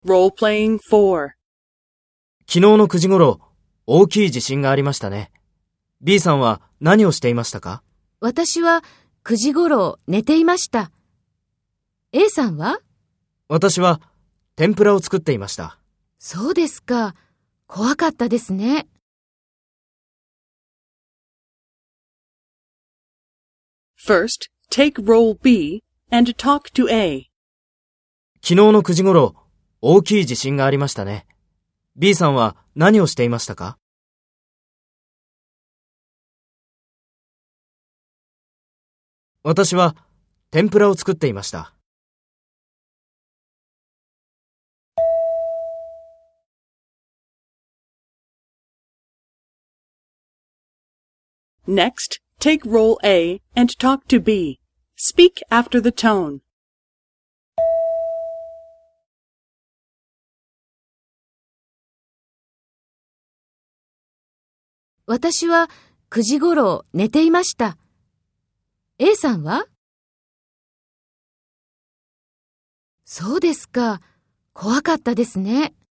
Role-playing 4. 昨日の9時頃、大きい地震がありましたね。B さんは何をしていましたか？ 私は9時頃寝ていました。A さんは？ 私は天ぷらを作っていました。 そうですか。怖かったですね。 First, take role B and talk to A. 昨日の9時頃、大きい地震がありましたね。B さんは何をしていましたか？私は天ぷらを作っていました。 Next, take role A and talk to B. Speak after the tone. 私は9時頃寝ていました。A さんは？そうですか。怖かったですね。